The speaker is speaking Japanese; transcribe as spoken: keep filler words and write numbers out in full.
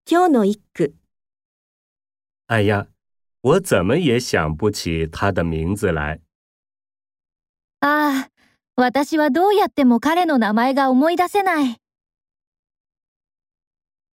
今日の一句。 哎呀，我怎么也想不起他的名字来。 ああ、私はどうやっても彼の名前が思い出せない。